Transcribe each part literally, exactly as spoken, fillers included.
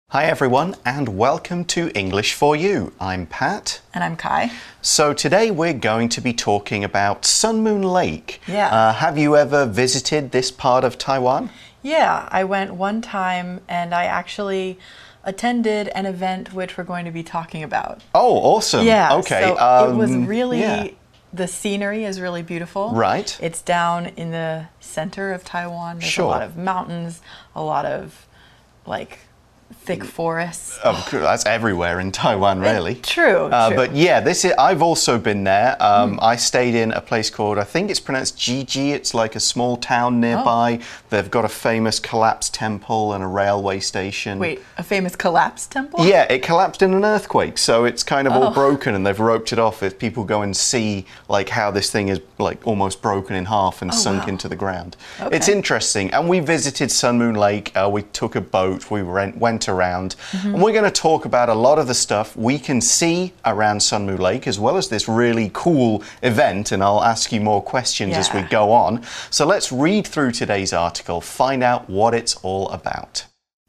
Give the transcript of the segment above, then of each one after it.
Hi everyone and welcome to English for You. I'm Pat. And I'm Kai. So today we're going to be talking about Sun Moon Lake. Yeah. Uh, have you ever visited this part of Taiwan? Yeah, I went one time and I actually attended an event which we're going to be talking about. Oh, awesome. Yeah, okay. so um, it was really, yeah. the scenery is really beautiful. Right. It's down in the center of Taiwan. There's Sure. a lot of mountains, a lot of like thick forests. Oh, cool. That's everywhere in Taiwan, really. It, true, uh, true. But yeah, this is, I've also been there. Um, mm. I stayed in a place called, I think it's pronounced Jiji. It's like a small town nearby. Oh. They've got a famous collapsed temple and a railway station. Wait, a famous collapsed temple? Yeah, it collapsed in an earthquake, so it's kind of oh. all broken, and they've roped it off. If people go and see like how this thing is like almost broken in half and oh, sunk wow. into the ground. Okay. It's interesting. And we visited Sun Moon Lake. Uh, we took a boat. We went, went around. Mm-hmm. And we're going to talk about a lot of the stuff we can see around Sun Moon Lake, as well as this really cool event, and I'll ask you more questions yeah. as we go on. So let's read through today's article, find out what it's all about.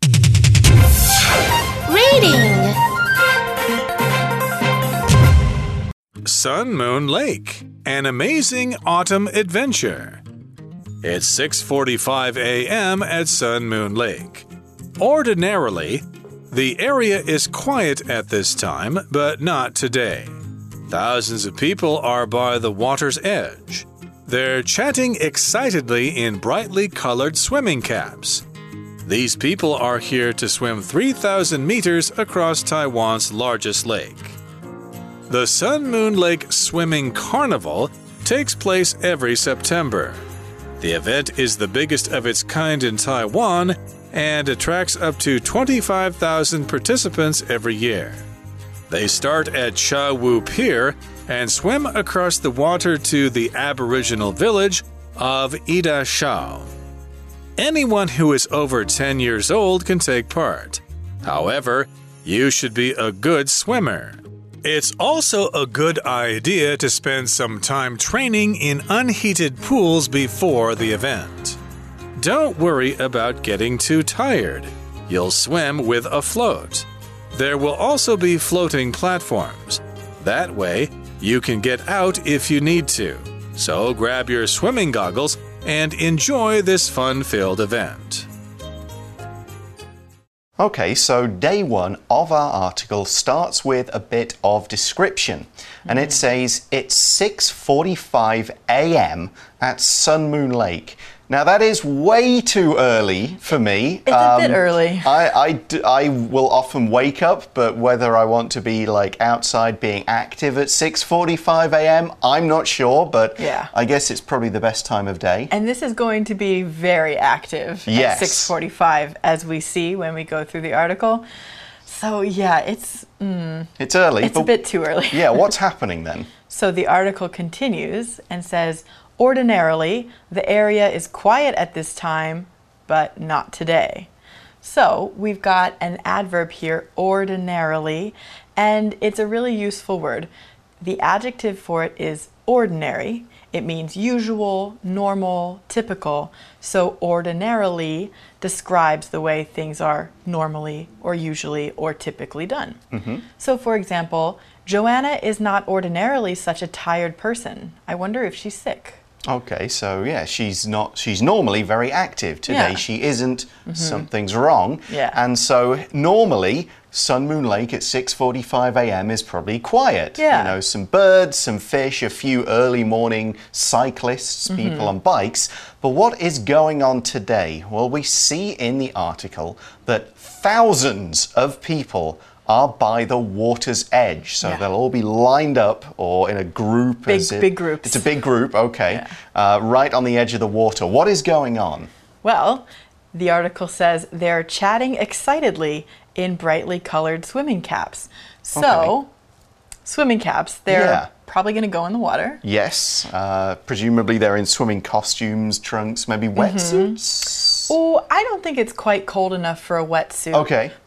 Reading. Sun Moon Lake, an amazing autumn adventure. It's six forty-five a m at Sun Moon Lake. Ordinarily, the area is quiet at this time, but not today. Thousands of people are by the water's edge. They're chatting excitedly in brightly colored swimming caps. These people are here to swim three thousand meters across Taiwan's largest lake. The Sun Moon Lake Swimming Carnival takes place every September. The event is the biggest of its kind in Taiwan and attracts up to twenty-five thousand participants every year. They start at Cha Wu Pier and swim across the water to the Aboriginal village of Ida Shao. Anyone who is over ten years old can take part. However, you should be a good swimmer. It's also a good idea to spend some time training in unheated pools before the event. Don't worry about getting too tired. You'll swim with a float. There will also be floating platforms. That way, you can get out if you need to. So grab your swimming goggles and enjoy this fun-filled event. Okay, so day one of our article starts with a bit of description. And it says it's six forty-five a m at Sun Moon Lake. Now, that is way too early for me. It's um, a bit early. I, I, I will often wake up, but whether I want to be like outside being active at six forty-five a m, I'm not sure, but yeah. I guess it's probably the best time of day. And this is going to be very active yes. at six forty-five, as we see when we go through the article. So, yeah, it's... Mm, it's early. It's a bit too early. Yeah, what's happening then? So the article continues and says, ordinarily, the area is quiet at this time, but not today. So we've got an adverb here, ordinarily, and it's a really useful word. The adjective for it is ordinary. It means usual, normal, typical. So ordinarily describes the way things are normally or usually or typically done. Mm-hmm. So for example, Joanna is not ordinarily such a tired person. I wonder if she's sick. Okay, so yeah, she's not, she's normally very active. Today yeah. she isn't, mm-hmm. something's wrong. Yeah. And so normally Sun Moon Lake at six forty-five a m is probably quiet. Yeah. You know, some birds, some fish, a few early morning cyclists, mm-hmm. people on bikes. But what is going on today? Well, we see in the article that thousands of people are by the water's edge. So yeah. they'll all be lined up or in a group. Big, as it, big groups. It's a big group, okay. Yeah. Uh, right on the edge of the water. What is going on? Well, the article says they're chatting excitedly in brightly colored swimming caps. So, okay. swimming caps, they're yeah. probably going to go in the water. Yes. Uh, presumably they're in swimming costumes, trunks, maybe wetsuits? Mm-hmm. Oh, I don't think it's quite cold enough for a wetsuit. Okay.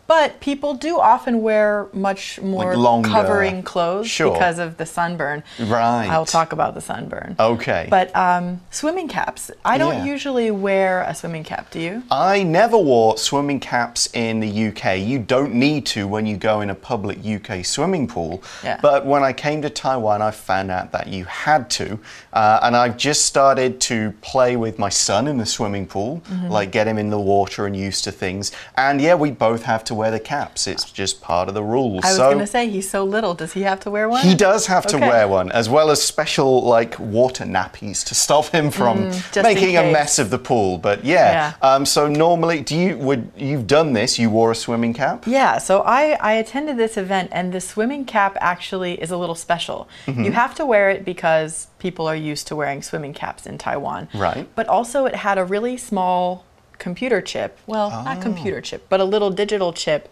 But people do often wear much more longer- covering clothes Sure. because of the sunburn. Right. I'll talk about the sunburn. Okay. But um, swimming caps. I don't Yeah. usually wear a swimming cap, do you? I never wore swimming caps in the U K. You don't need to when you go in a public U K swimming pool. Yeah. But when I came to Taiwan, I found out that you had to. Uh, and I've just started to play with my son in the swimming pool, Mm-hmm. like get him in the water and used to things. And yeah, we both have to wear the caps. It's just part of the rules. I was so going to say, he's so little. Does he have to wear one? he does have to Okay. wear one, as well as special like water nappies to stop him from just in making a case. mess of the pool. But yeah, Yeah. Um, so normally, do you would you've done this? You wore a swimming cap? Yeah, so I, I attended this event, and the swimming cap actually is a little special. Mm-hmm. You have to wear it because people are used to wearing swimming caps in Taiwan. Right. But also, it had a really small computer chip. Well, not Oh. computer chip, but a little digital chip,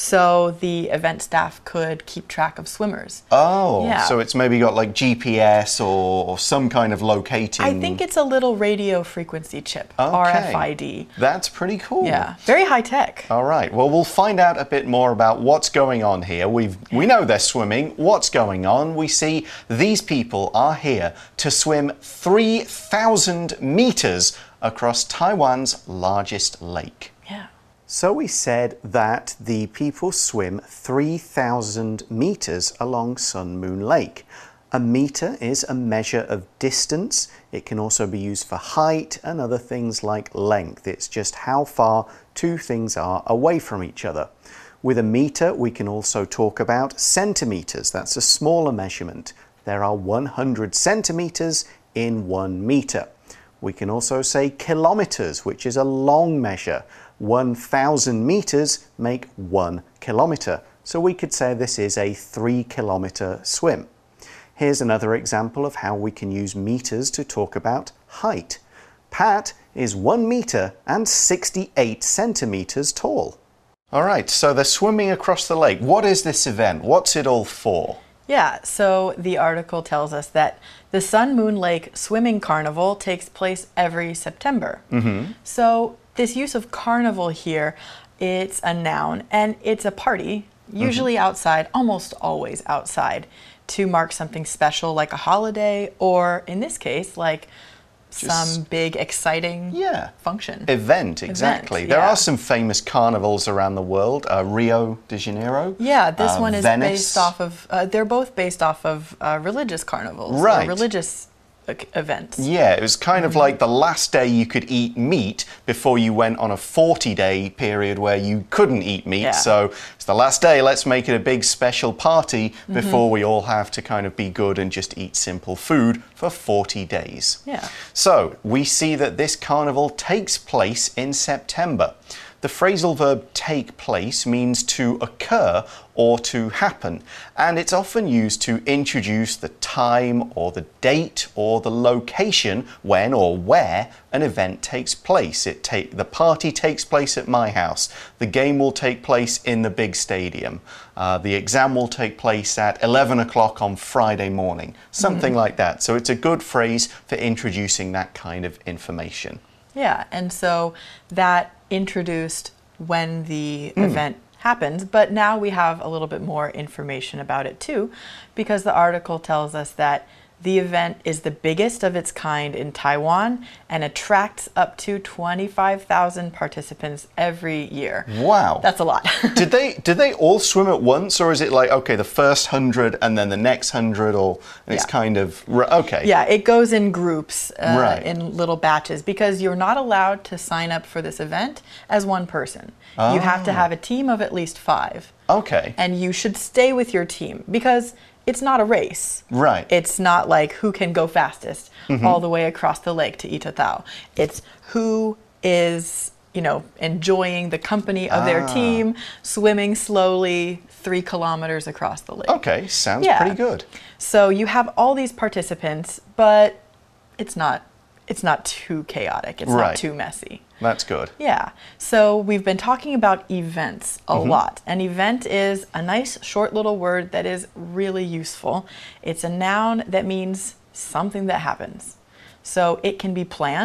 so the event staff could keep track of swimmers. Oh, Yeah. so it's maybe got like G P S or, or some kind of locating. I think it's a little radio frequency chip, Okay. R F I D. That's pretty cool. Yeah, very high tech. All right. Well, we'll find out a bit more about what's going on here. We've we know they're swimming. What's going on? We see these people are here to swim three thousand meters across Taiwan's largest lake. Yeah. So we said that the people swim three thousand meters along Sun Moon Lake. A meter is a measure of distance. It can also be used for height and other things like length. It's just how far two things are away from each other. With a meter, we can also talk about centimeters. That's a smaller measurement. There are one hundred centimeters in one meter. We can also say kilometers, which is a long measure. one thousand meters make one kilometer. So we could say this is a three kilometer swim. Here's another example of how we can use meters to talk about height. Pat is one meter and sixty-eight centimeters tall. All right, so they're swimming across the lake. What is this event? What's it all for? Yeah, so the article tells us that the Sun Moon Lake Swimming Carnival takes place every September. Mm-hmm. So this use of carnival here, it's a noun and it's a party, usually mm-hmm. outside, almost always outside, to mark something special like a holiday, or in this case, like Just, some big exciting yeah, function. Event, exactly. Event, there yeah. are some famous carnivals around the world. Uh, Rio de Janeiro. Yeah, this uh, one is Venice. based off of, uh, they're both based off of uh, religious carnivals, Right. or religious uh, events. Yeah, it was kind of Mm-hmm. like the last day you could eat meat before you went on a forty day period where you couldn't eat meat. Yeah. So it's the last day, let's make it a big special party before Mm-hmm. we all have to kind of be good and just eat simple food for forty days. Yeah. So we see that this carnival takes place in September. The phrasal verb take place means to occur or to happen, and it's often used to introduce the time or the date or the location when or where an event takes place. It take, the party takes place at my house. The game will take place in the big stadium. Uh, the exam will take place at eleven o'clock on Friday morning. Something mm-hmm. like that. So it's a good phrase for introducing that kind of information. Yeah, and so that introduced when the mm. event happens, but now we have a little bit more information about it too, because the article tells us that the event is the biggest of its kind in Taiwan and attracts up to twenty-five thousand participants every year. Wow. That's a lot. did they did they all swim at once, or is it like, okay, the first hundred and then the next hundred, or and it's Yeah. kind of, okay. Yeah, it goes in groups, uh, Right. in little batches, because you're not allowed to sign up for this event as one person. You have to have a team of at least five. Okay. And you should stay with your team, because it's not a race. Right. It's not like who can go fastest mm-hmm. all the way across the lake to Itatao. It's who is, you know, enjoying the company of Ah. their team, swimming slowly three kilometers across the lake. Okay, sounds Yeah. pretty good. So you have all these participants, but it's not it's not too chaotic. It's Right. not too messy. That's good. Yeah. So we've been talking about events a Mm-hmm. lot. An event is a nice short little word that is really useful. It's a noun that means something that happens. So it can be planned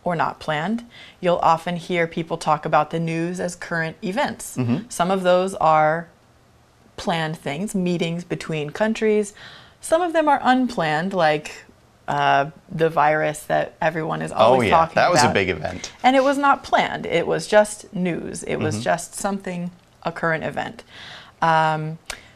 or not planned. You'll often hear people talk about the news as current events. Mm-hmm. Some of those are planned things, meetings between countries. Some of them are unplanned, like uh, the virus that everyone is always oh, yeah, talking about. that was a big event. And it was not planned. It was just news. It was Mm-hmm. just something, a current event. Um,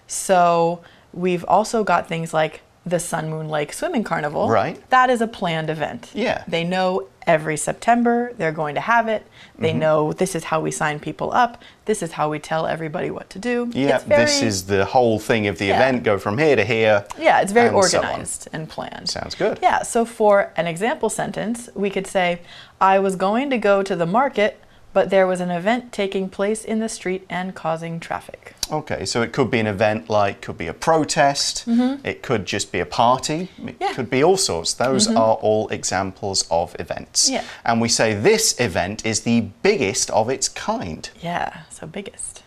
so we've also got things like the Sun Moon Lake Swimming Carnival. Right. That is a planned event. Yeah. They know every September they're going to have it. They Mm-hmm. know this is how we sign people up. This is how we tell everybody what to do. Yeah, It's very, this is the whole thing of the Yeah. event, go from here to here. Yeah, it's very and so on. organized and planned. Sounds good. Yeah, so for an example sentence, we could say, I was going to go to the market, but there was an event taking place in the street and causing traffic. Okay, so it could be an event like, could be a protest, it could just be a party, it Mm-hmm. Yeah. could be all sorts. Those are all examples of events. Yeah. And we say this event is the biggest of its kind. Yeah, so biggest.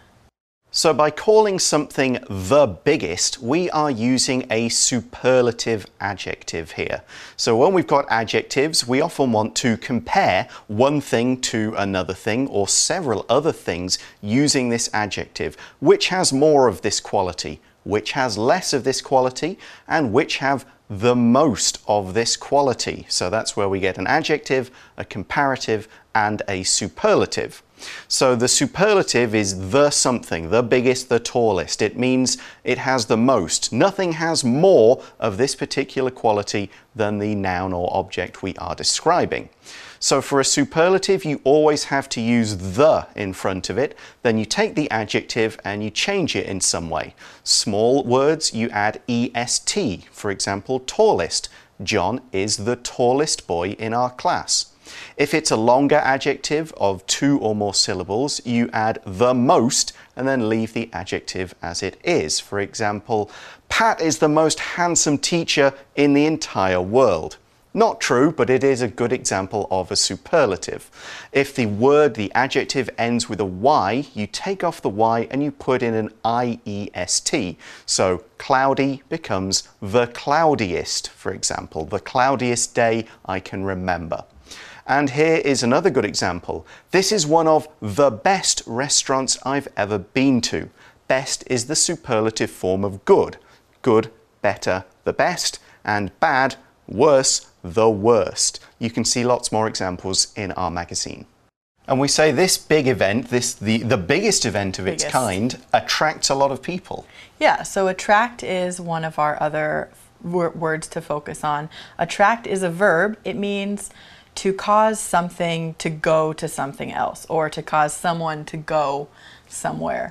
So by calling something the biggest, we are using a superlative adjective here. So when we've got adjectives, we often want to compare one thing to another thing or several other things using this adjective. Which has more of this quality? Which has less of this quality? And which have the most of this quality? So that's where we get an adjective, a comparative, and a superlative. So the superlative is the something, the biggest, the tallest. It means it has the most. Nothing has more of this particular quality than the noun or object we are describing. So for a superlative, you always have to use the in front of it. Then you take the adjective and you change it in some way. Small words, you add est. For example, tallest. John is the tallest boy in our class. If it's a longer adjective of two or more syllables, you add the most and then leave the adjective as it is. For example, Pat is the most handsome teacher in the entire world. Not true, but it is a good example of a superlative. If the word, the adjective, ends with a Y, you take off the Y and you put in an I E S T. So cloudy becomes the cloudiest, for example. The cloudiest day I can remember. And here is another good example. This is one of the best restaurants I've ever been to. Best is the superlative form of good. Good, better, the best, and bad, worse, the worst. You can see lots more examples in our magazine. And we say this big event, this the, the biggest event of Biggest. its kind, attracts a lot of people. Yeah, so attract is one of our other wor- words to focus on. Attract is a verb. It means to cause something to go to something else or to cause someone to go somewhere.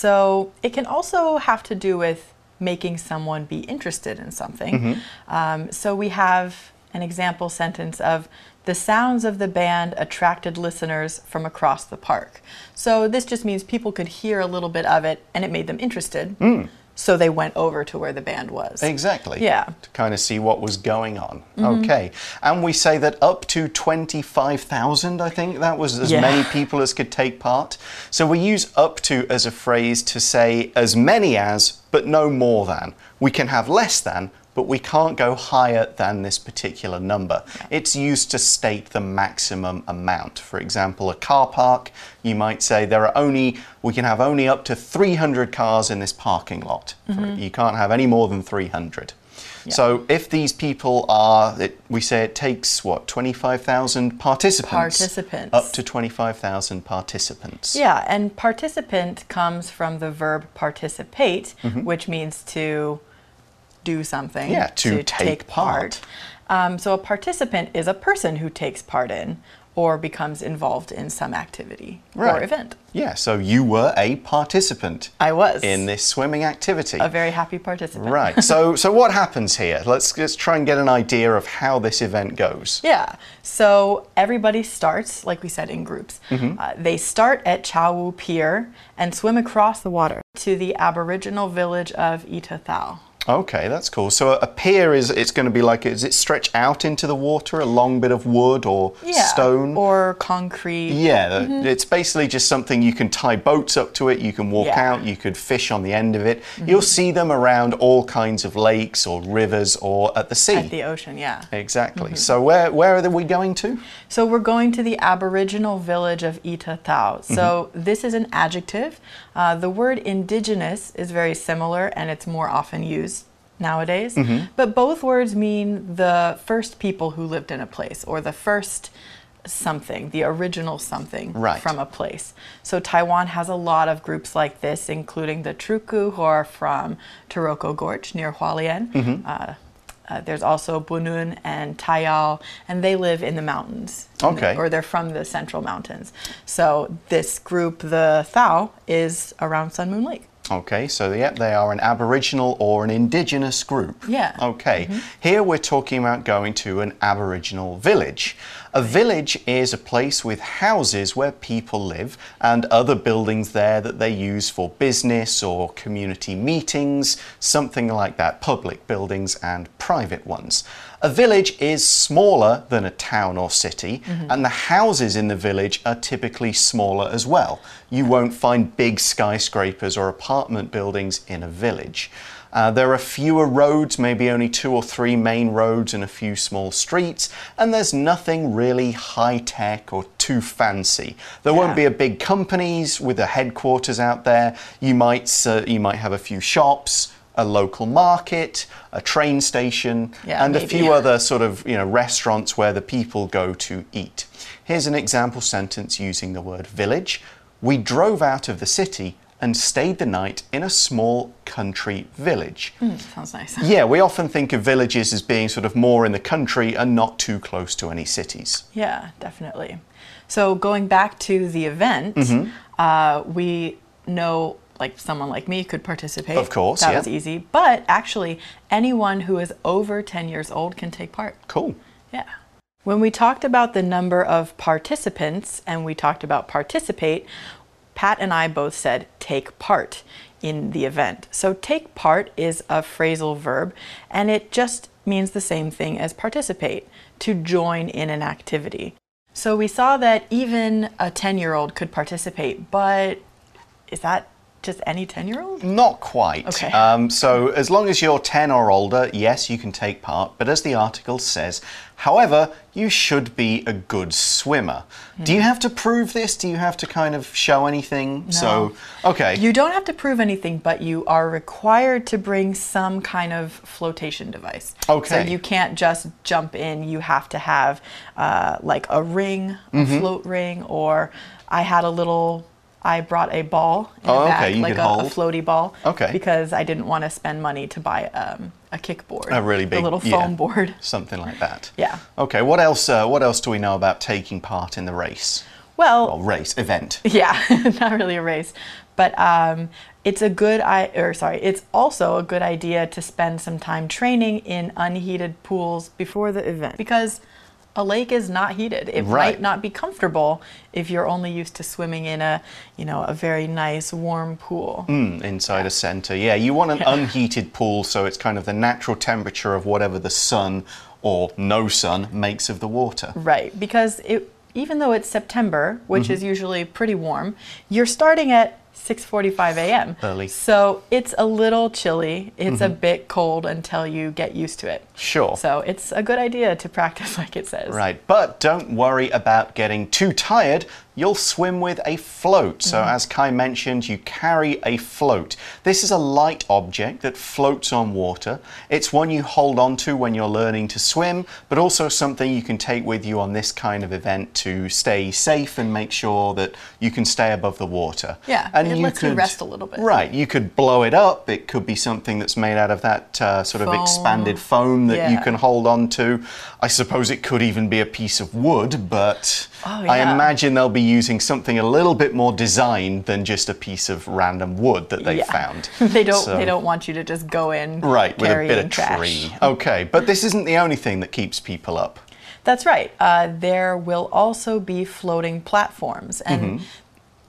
So it can also have to do with making someone be interested in something. Mm-hmm. Um, so we have an example sentence of the sounds of the band attracted listeners from across the park. So this just means people could hear a little bit of it and it made them interested. Mm. So they went over to where the band was. Exactly. Yeah. To kind of see what was going on. Mm-hmm. Okay. And we say that up to twenty-five thousand, I think that was as Yeah. many people as could take part. So we use up to as a phrase to say as many as, but no more than. We can have less than, but we can't go higher than this particular number. Yeah. It's used to state the maximum amount. For example, a car park, you might say there are only, we can have only up to three hundred cars in this parking lot. Mm-hmm. You can't have any more than three hundred. Yeah. So if these people are, it, we say it takes, what, twenty-five thousand participants? Participants. Up to twenty-five thousand participants. Yeah, and participant comes from the verb participate, which means to do something. Yeah, to take part. Um, so a participant is a person who takes part in or becomes involved in some activity or Right. event. Yeah, so you were a participant I was. in this swimming activity. A very happy participant. Right. So, so what happens here? Let's let's try and get an idea of how this event goes. Yeah. So everybody starts, like we said, in groups. Uh, they start at Chow Wu Pier and swim across the water to the Aboriginal village of Itathao. Okay, that's cool. So a pier is, it's going to be like, is it stretched out into the water, a long bit of wood or yeah, stone? Or concrete. Yeah, mm-hmm. It's basically just something you can tie boats up to it, you can walk yeah. out, you could fish on the end of it. Mm-hmm. You'll see them around all kinds of lakes or rivers or at the sea. At the ocean, yeah. Exactly. Mm-hmm. So where, where are we going to? So we're going to the Aboriginal village of Ita Tau. So mm-hmm. this is an adjective. Uh, the word indigenous is very similar and it's more often used nowadays. Mm-hmm. But both words mean the first people who lived in a place or the first something, the original something right. from a place. So Taiwan has a lot of groups like this, including the Truku, who are from Taroko Gorge near Hualien. Mm-hmm. uh, Uh, there's also Bunun and Tayao, and they live in the mountains. Okay. The, or they're from the central mountains. So this group, the Thao, is around Sun Moon Lake. Okay, so yep, they are an Aboriginal or an indigenous group. Yeah. Okay, mm-hmm. Here we're talking about going to an Aboriginal village. A village is a place with houses where people live and other buildings there that they use for business or community meetings, something like that, public buildings and private ones. A village is smaller than a town or city, mm-hmm. and the houses in the village are typically smaller as well. You won't find big skyscrapers or apartment buildings in a village. Uh, there are fewer roads, maybe only two or three main roads and a few small streets, and there's nothing really high-tech or too fancy. There yeah. won't be a big companies with a headquarters out there. You might, uh, you might have a few shops, a local market, a train station, yeah, and maybe. a few other sort of, you know, restaurants where the people go to eat. Here's an example sentence using the word village. We drove out of the city and stayed the night in a small country village. Mm, sounds nice. Yeah, we often think of villages as being sort of more in the country and not too close to any cities. Yeah, definitely. So going back to the event, mm-hmm. uh, we know like someone like me could participate. Of course, that yeah. was easy. But actually, anyone who is over ten years old can take part. Cool. Yeah. When we talked about the number of participants and we talked about participate, Pat and I both said take part in the event. So take part is a phrasal verb and it just means the same thing as participate, to join in an activity. So we saw that even a ten-year-old could participate, but is that just any ten-year-old? Not quite. Okay. Um, so as long as you're ten or older, yes, you can take part. But as the article says, however, you should be a good swimmer. Mm. Do you have to prove this? Do you have to kind of show anything? No. So, okay. You don't have to prove anything, but you are required to bring some kind of flotation device. Okay. So you can't just jump in. You have to have uh, like a ring, a mm-hmm. float ring, or I had a little... I brought a ball in oh, a bag, okay. you like could a, hold. a floaty ball, okay. because I didn't want to spend money to buy um, a kickboard, a really big, a little foam yeah, board, something like that. Yeah. Okay. What else? Uh, what else do we know about taking part in the race? Well, well race event. Yeah, not really a race, but um, it's a good. I or sorry, it's also a good idea to spend some time training in unheated pools before the event, because a lake is not heated. It right. might not be comfortable if you're only used to swimming in a, you know, a very nice warm pool. Mm, inside yeah. a center. Yeah, you want an yeah. unheated pool, so it's kind of the natural temperature of whatever the sun or no sun makes of the water. Right, because it, even though it's September, which mm-hmm. is usually pretty warm, you're starting at six forty-five a m Early. So it's a little chilly. It's mm-hmm. a bit cold until you get used to it. Sure. So it's a good idea to practice like it says. Right, but don't worry about getting too tired. You'll swim with a float. So mm. as Kai mentioned, you carry a float. This is a light object that floats on water. It's one you hold on to when you're learning to swim, but also something you can take with you on this kind of event to stay safe and make sure that you can stay above the water. Yeah, and it you lets could, you rest a little bit. Right, you could blow it up. It could be something that's made out of that uh, sort foam. of expanded foam that yeah. you can hold on to. I suppose it could even be a piece of wood, but oh, yeah. I imagine they'll be using something a little bit more designed than just a piece of random wood that they yeah. found. they don't so, they don't want you to just go in right with a bit of trash. tree. Okay, but this isn't the only thing that keeps people up. That's right. Uh, there will also be floating platforms, and mm-hmm.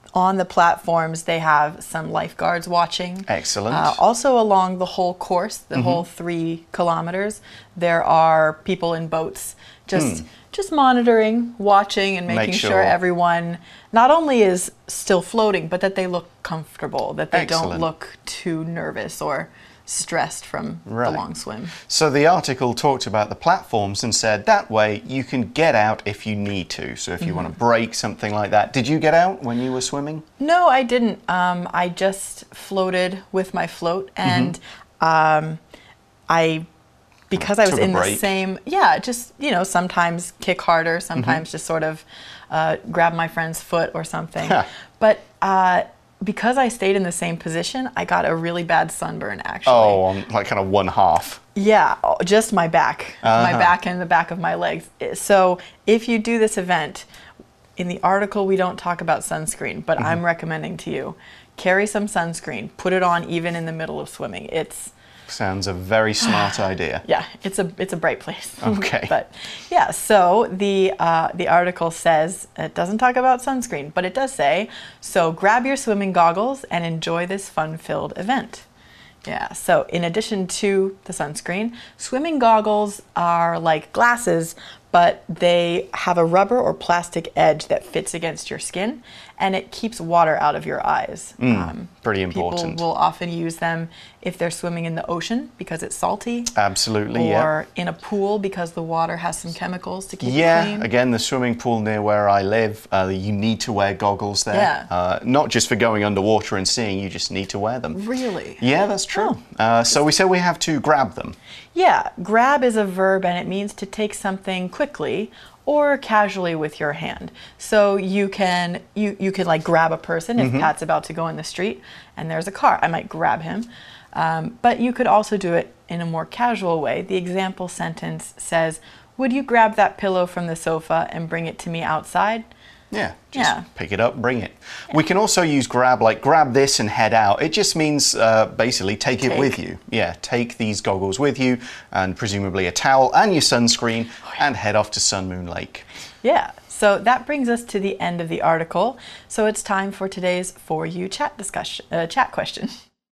on the platforms, they have some lifeguards watching. Excellent. Uh, also along the whole course, the mm-hmm. whole three kilometers, there are people in boats just... Mm. Just monitoring, watching, and making Make sure. sure everyone not only is still floating, but that they look comfortable, that they Excellent. Don't look too nervous or stressed from right. the long swim. So the article talked about the platforms and said that way you can get out if you need to. So if you mm-hmm. want to break, something like that. Did you get out when you were swimming? No, I didn't. Um, I just floated with my float, and mm-hmm. um, I... Because I was in the same, yeah, just, you know, sometimes kick harder, sometimes mm-hmm. just sort of uh, grab my friend's foot or something. But uh, because I stayed in the same position, I got a really bad sunburn, actually. Oh, on like kind of one half. Yeah, just my back, uh-huh. my back and the back of my legs. So if you do this event, in the article we don't talk about sunscreen, but mm-hmm. I'm recommending to you, carry some sunscreen, put it on even in the middle of swimming. It's Sounds a very smart idea. Yeah, it's a it's a bright place. Okay. But yeah, so the uh, the article says it doesn't talk about sunscreen, but it does say, so grab your swimming goggles and enjoy this fun-filled event. Yeah, so in addition to the sunscreen, swimming goggles are like glasses, but they have a rubber or plastic edge that fits against your skin, and it keeps water out of your eyes. Mm, um, pretty important. People will often use them if they're swimming in the ocean because it's salty. Absolutely, or yeah. in a pool because the water has some chemicals to keep yeah, it clean. Yeah, again, the swimming pool near where I live, uh, you need to wear goggles there. Yeah. Uh, not just for going underwater and seeing, you just need to wear them. Really? Yeah, that's true. Oh. Uh, so we said we have to grab them. Yeah, grab is a verb and it means to take something quickly or casually with your hand. So you can you, you could like grab a person if mm-hmm. Pat's about to go in the street and there's a car. I might grab him. Um, but you could also do it in a more casual way. The example sentence says, would you grab that pillow from the sofa and bring it to me outside? Yeah, just yeah. pick it up, bring it. Yeah. We can also use grab, like grab this and head out. It just means uh, basically take, take it with you. Yeah, take these goggles with you and presumably a towel and your sunscreen oh, yeah. and head off to Sun Moon Lake. Yeah, so that brings us to the end of the article. So it's time for today's For You chat discussion, uh, chat question.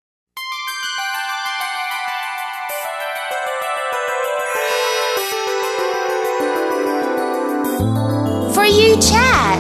For You chat.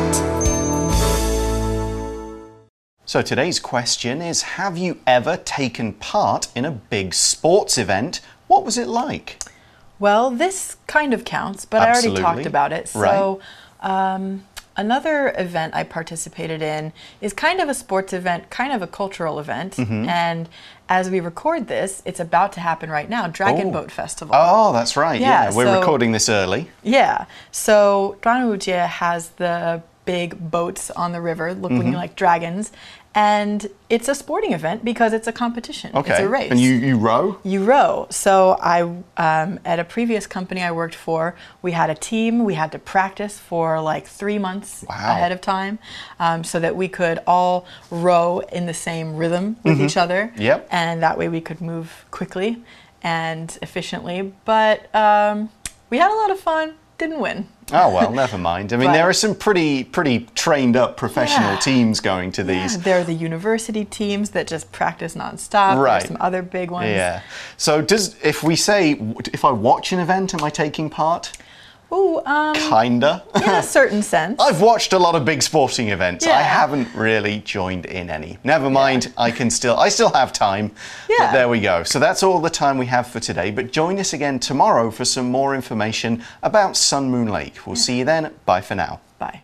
So today's question is, have you ever taken part in a big sports event? What was it like? Well, this kind of counts, but Absolutely. I already talked about it. So right. um, another event I participated in is kind of a sports event, kind of a cultural event. Mm-hmm. And as we record this, it's about to happen right now, Dragon oh. Boat Festival. Oh, that's right. Yeah, yeah. we're so, recording this early. Yeah. So Dranwujie has the big boats on the river looking mm-hmm. like dragons. And it's a sporting event because it's a competition. Okay. It's a race. And you, you row? You row. So I, um, at a previous company I worked for, we had a team. We had to practice for like three months wow. ahead of time um, so that we could all row in the same rhythm with mm-hmm. each other. Yep. And that way we could move quickly and efficiently. But um, we had a lot of fun. Didn't win. Oh, well, never mind. I mean, but, there are some pretty pretty trained up professional yeah. teams going to these. Yeah, there are the university teams that just practice nonstop. Right. There's some other big ones. Yeah. So does if we say, if I watch an event, am I taking part? Ooh, um... Kinda. In a certain sense. I've watched a lot of big sporting events. Yeah. I haven't really joined in any. Never mind, yeah. I can still, I still have time. Yeah. But there we go. So that's all the time we have for today. But join us again tomorrow for some more information about Sun Moon Lake. We'll yeah. see you then. Bye for now. Bye.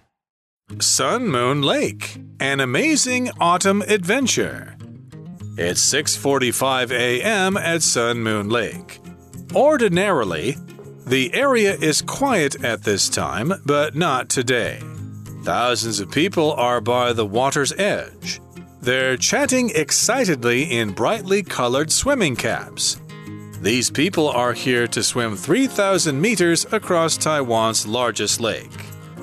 Sun Moon Lake, an amazing autumn adventure. It's six forty-five a m at Sun Moon Lake. Ordinarily, the area is quiet at this time, but not today. Thousands of people are by the water's edge. They're chatting excitedly in brightly colored swimming caps. These people are here to swim three thousand meters across Taiwan's largest lake.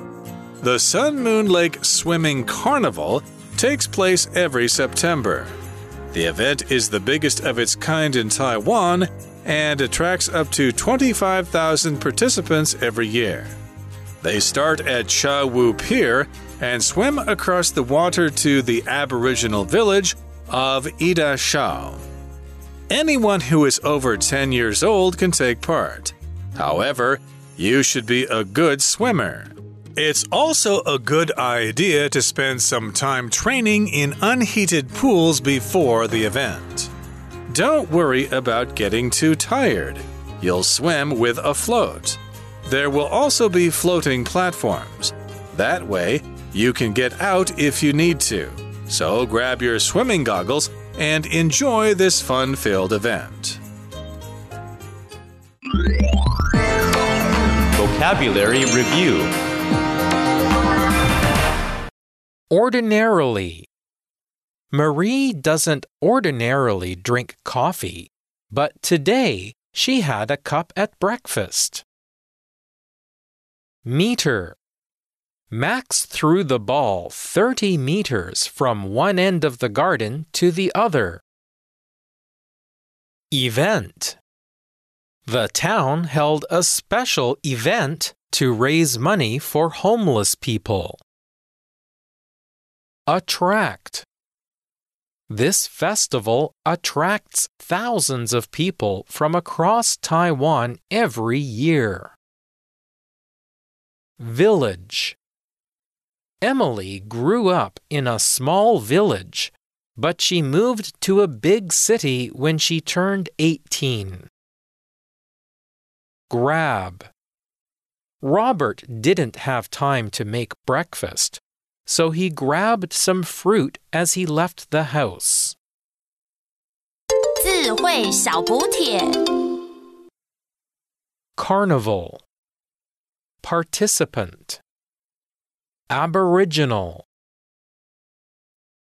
The Sun Moon Lake Swimming Carnival takes place every September. The event is the biggest of its kind in Taiwan and attracts up to twenty-five thousand participants every year. They start at Cha Wu Pier and swim across the water to the Aboriginal village of Ida Shao. Anyone who is over ten years old can take part. However, you should be a good swimmer. It's also a good idea to spend some time training in unheated pools before the event. Don't worry about getting too tired. You'll swim with a float. There will also be floating platforms. That way, you can get out if you need to. So grab your swimming goggles and enjoy this fun-filled event. Vocabulary Review. Ordinarily. Marie doesn't ordinarily drink coffee, but today she had a cup at breakfast. Meter. Max threw the ball thirty meters from one end of the garden to the other. Event. The town held a special event to raise money for homeless people. Attract. This festival attracts thousands of people from across Taiwan every year. Village. Emily grew up in a small village, but she moved to a big city when she turned eighteen. Grab. Robert didn't have time to make breakfast, so he grabbed some fruit as he left the house. 智慧小補帖 Carnival. Participant. Aboriginal.